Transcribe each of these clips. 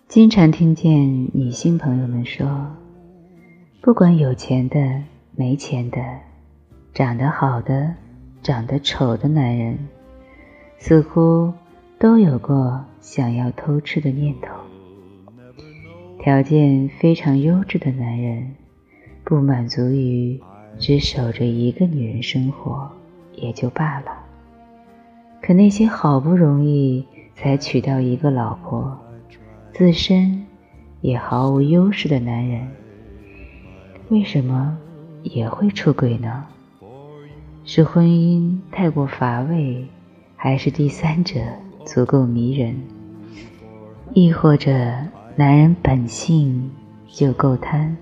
经常听见女性朋友们说，不管有钱的、没钱的，长得好的、长得丑的男人，似乎都有过想要偷吃的念头。条件非常优质的男人，不满足于只守着一个女人生活也就罢了，可那些好不容易才娶到一个老婆，自身也毫无优势的男人，为什么也会出轨呢？是婚姻太过乏味，还是第三者足够迷人？亦或者男人本性就够贪？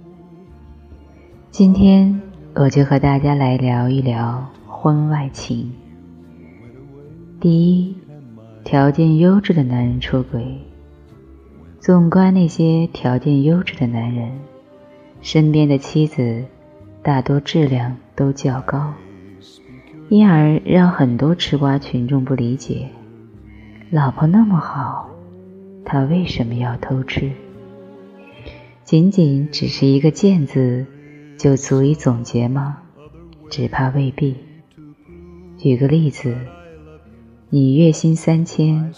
今天我就和大家来聊一聊婚外情。第一，条件优质的男人出轨。纵观那些条件优质的男人，身边的妻子大多质量都较高，因而让很多吃瓜群众不理解，老婆那么好，他为什么要偷吃？仅仅只是一个贱字就足以总结吗？只怕未必。举个例子，你月薪3000，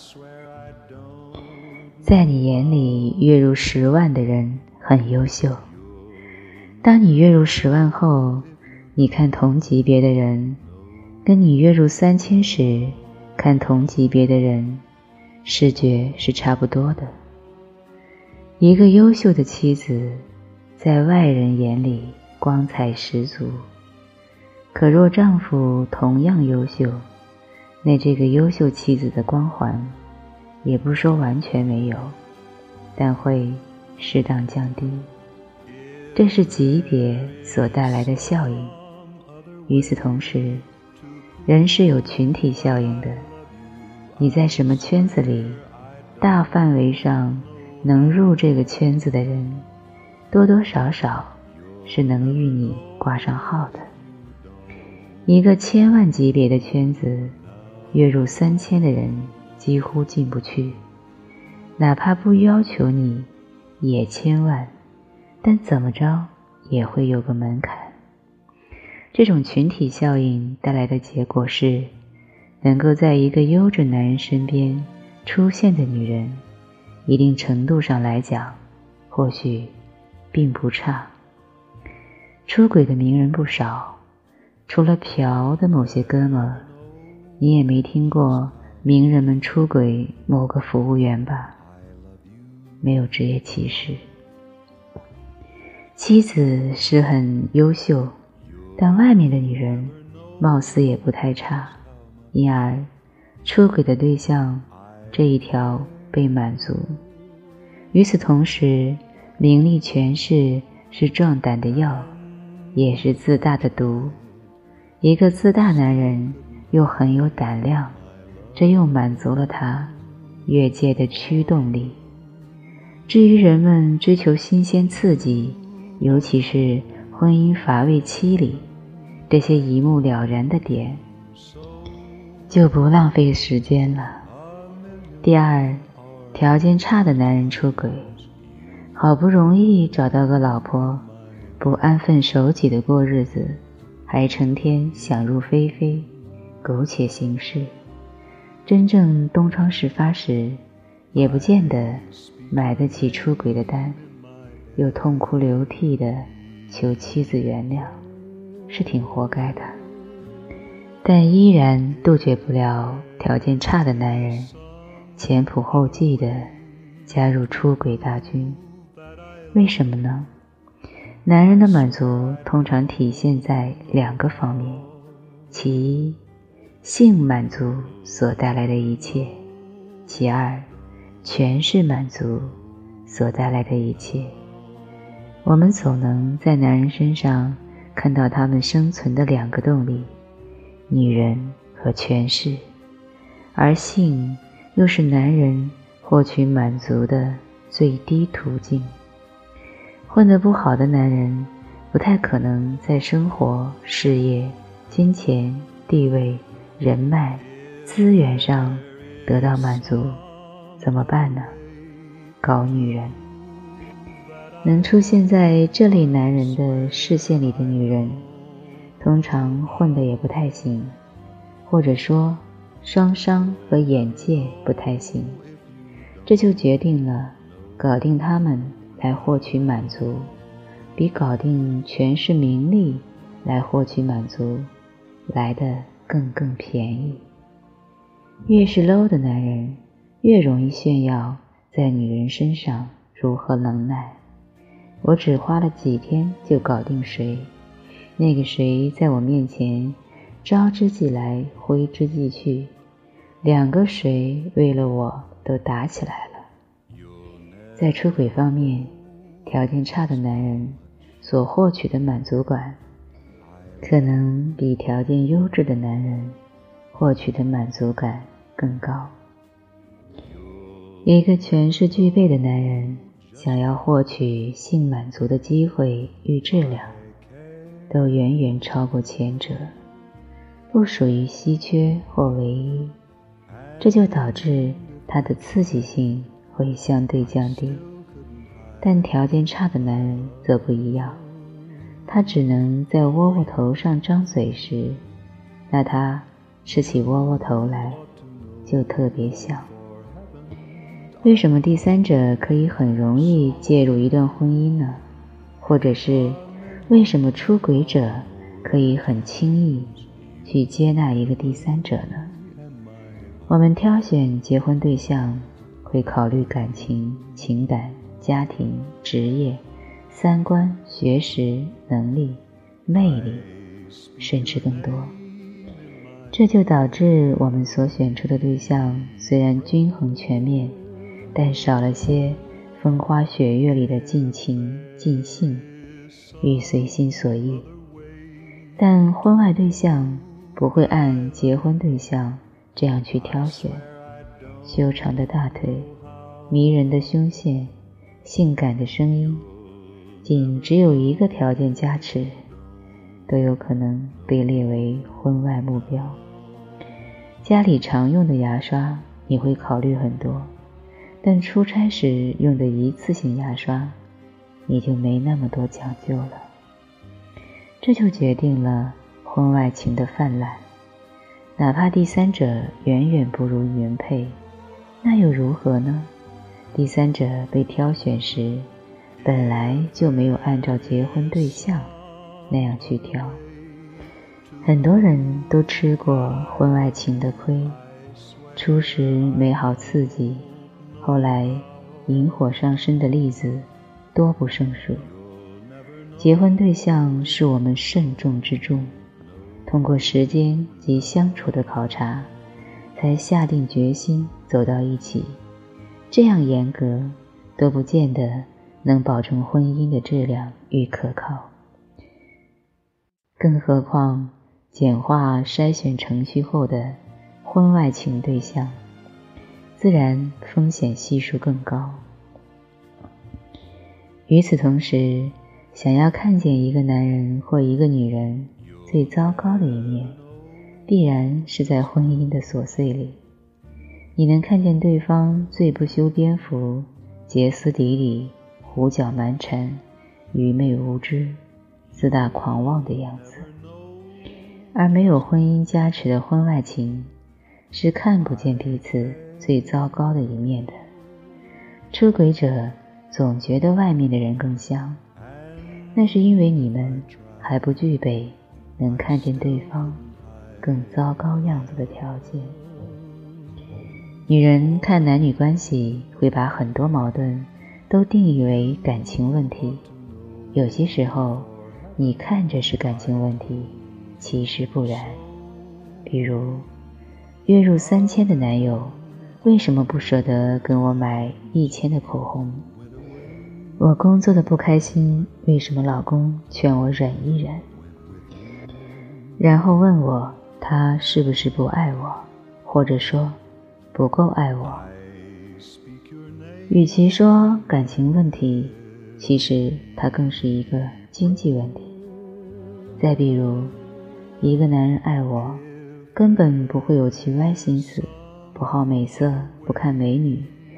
在你眼里月入10万的人很优秀，当你月入10万后，你看同级别的人，跟你月入3000时看同级别的人，视觉是差不多的。一个优秀的妻子在外人眼里光彩十足，可若丈夫同样优秀，那这个优秀妻子的光环也不说完全没有，但会适当降低，这是级别所带来的效应。与此同时，人是有群体效应的，你在什么圈子里，大范围上能入这个圈子的人，多多少少是能与你挂上号的。一个1000万级别的圈子，月入3000的人几乎进不去，哪怕不要求你也1000万，但怎么着也会有个门槛。这种群体效应带来的结果是，能够在一个优质男人身边出现的女人，一定程度上来讲，或许并不差。出轨的名人不少，除了嫖的某些哥们儿，你也没听过名人们出轨某个服务员吧？没有职业歧视。妻子是很优秀，但外面的女人貌似也不太差，因而出轨的对象这一条被满足。与此同时，名利权势是壮胆的药，也是自大的毒。一个自大男人又很有胆量，这又满足了他越界的驱动力。至于人们追求新鲜刺激，尤其是婚姻乏味期里，这些一目了然的点，就不浪费时间了。第二，条件差的男人出轨，好不容易找到个老婆，不安分守己的过日子，还成天想入非非，苟且行事，真正东窗事发时，也不见得买得起出轨的单，又痛哭流涕地求妻子原谅，是挺活该的。但依然杜绝不了条件差的男人前仆后继地加入出轨大军。为什么呢？男人的满足通常体现在2个方面，其一，性满足所带来的一切；其二，权势满足所带来的一切。我们总能在男人身上看到他们生存的2个动力，女人和权势，而性又是男人获取满足的最低途径。混得不好的男人不太可能在生活、事业、金钱、地位、人脉、资源上得到满足，怎么办呢？ 搞女人。能出现在这类男人的视线里的女人，通常混得也不太行，或者说双商和眼界不太行。这就决定了搞定他们来获取满足，比搞定权势名利来获取满足来得更便宜。越是 low 的男人，越容易炫耀在女人身上如何能耐。我只花了几天就搞定谁，那个谁在我面前招之即来挥之即去，两个谁为了我都打起来了。在出轨方面，条件差的男人所获取的满足感可能比条件优质的男人获取的满足感更高。一个权势具备的男人想要获取性满足的机会与质量都远远超过前者，不属于稀缺或唯一，这就导致他的刺激性会相对降低。但条件差的男人则不一样，他只能在窝窝头上张嘴时，那他吃起窝窝头来就特别香。为什么第三者可以很容易介入一段婚姻呢？或者是为什么出轨者可以很轻易去接纳一个第三者呢？我们挑选结婚对象会考虑感情、情感、家庭、职业、三观、学识、能力、魅力，甚至更多。这就导致我们所选出的对象虽然均衡全面，但少了些风花雪月里的尽情尽兴与随心所欲。但婚外对象不会按结婚对象这样去挑选，修长的大腿、迷人的胸线、性感的声音，仅只有一个条件加持，都有可能被列为婚外目标。家里常用的牙刷你会考虑很多，但出差时用的一次性牙刷你就没那么多讲究了。这就决定了婚外情的泛滥。哪怕第三者远远不如原配，那又如何呢？第三者被挑选时本来就没有按照结婚对象那样去挑。很多人都吃过婚外情的亏，初时美好刺激，后来引火上身的例子多不胜数。结婚对象是我们慎重之重，通过时间及相处的考察，才下定决心走到一起。这样严格都不见得能保证婚姻的质量与可靠。更何况简化筛选程序后的婚外情对象，自然风险系数更高。与此同时，想要看见一个男人或一个女人最糟糕的一面，必然是在婚姻的琐碎里。你能看见对方最不修边幅、歇斯底里、胡搅蛮缠、愚昧无知、自大狂妄的样子。而没有婚姻加持的婚外情，是看不见彼此最糟糕的一面的。出轨者总觉得外面的人更香，那是因为你们还不具备能看见对方更糟糕样子的条件。女人看男女关系会把很多矛盾都定义为感情问题，有些时候你看着是感情问题，其实不然。比如月入3000的男友为什么不舍得跟我买1000的口红？我工作的不开心，为什么老公劝我忍一忍？然后问我他是不是不爱我，或者说不够爱我。与其说感情问题，其实它更是一个经济问题。再比如，一个男人爱我，根本不会有其歪心思，不好美色，不看美女，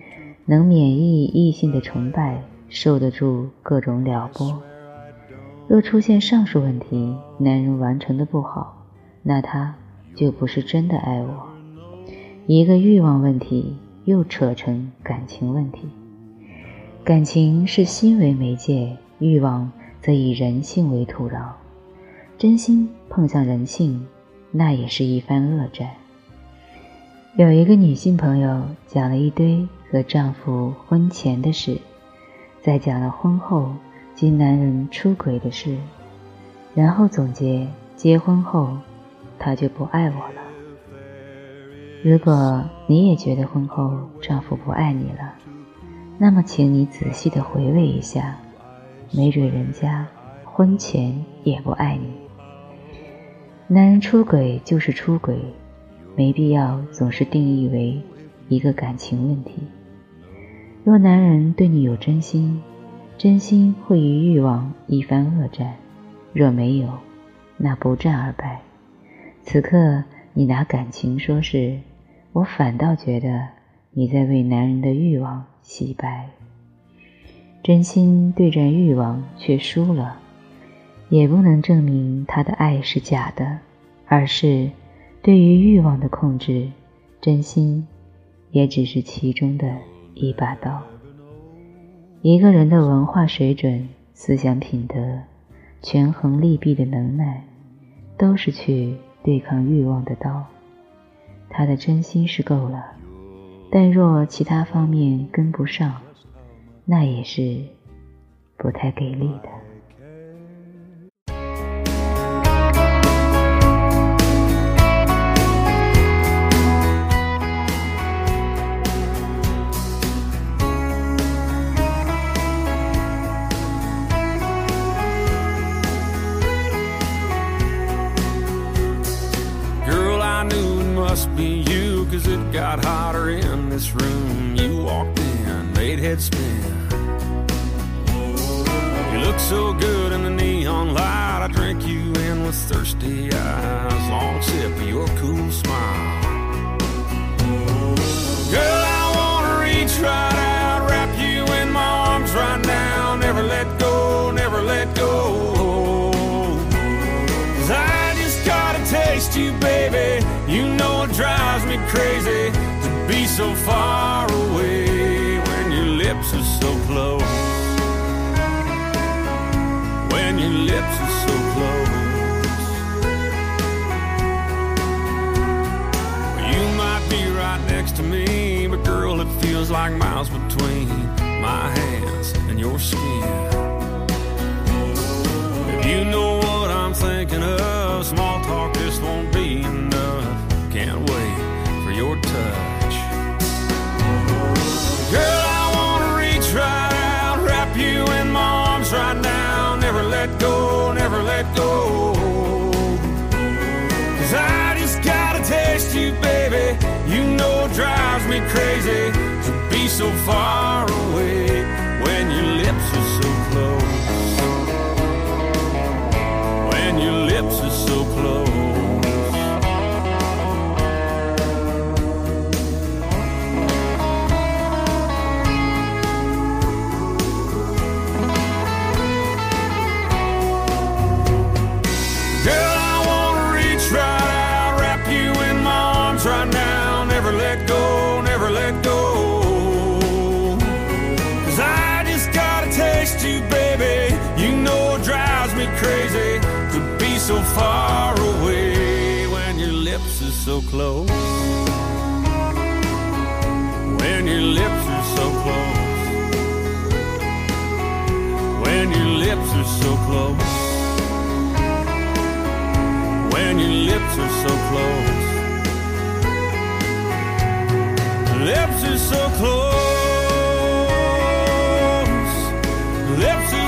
能免疫异性的崇拜，受得住各种撩拨。若出现上述问题，男人完成的不好，那他就不是真的爱我。一个欲望问题又扯成感情问题，感情是心为媒介，欲望则以人性为土壤。真心碰向人性，那也是一番恶战。有一个女性朋友讲了一堆和丈夫婚前的事，再讲了婚后及男人出轨的事，然后总结结婚后他就不爱我了。如果你也觉得婚后丈夫不爱你了，那么请你仔细地回味一下，没准人家婚前也不爱你。男人出轨就是出轨，没必要总是定义为一个感情问题。若男人对你有真心，真心会与欲望一番恶战，若没有，那不战而败。此刻你拿感情说事，我反倒觉得你在为男人的欲望洗白。真心对战欲望却输了，也不能证明他的爱是假的，而是对于欲望的控制，真心也只是其中的一把刀。一个人的文化水准、思想品德、权衡利弊的能耐，都是去对抗欲望的刀。他的真心是够了，但若其他方面跟不上，那也是不太给力的。 Must be you, 'cause it got hotter in this room. You walked in, made head spin. You look so good in the neon light. I drink you in with thirsty eyes. Long sip of your cool smile. Girl, I wanna reach right out, wrap you in my arms right now. Never let go, never let go. 'Cause I just gotta taste you, baby. You know it drives me crazy to be so far away when your lips are so close. When your lips are so close. You might be right next to me, but girl, it feels like miles between my hands and your skin. If you know what I'm thinking of, small talk just won't be enough. Can't wait for your touch. Girl, I wanna reach right out, wrap you in my arms right now. Never let go, never let go. 'Cause I just gotta taste you, baby. You know it drives me crazy to be so far away when your lips are so close. When your lips are so close. Right now, never let go, never let go. 'Cause I just gotta taste you, baby. You know it drives me crazy to be so far away when your lips are so close. When your lips are so close. When your lips are so close. When your lips are so close. Lips are so close. Lips are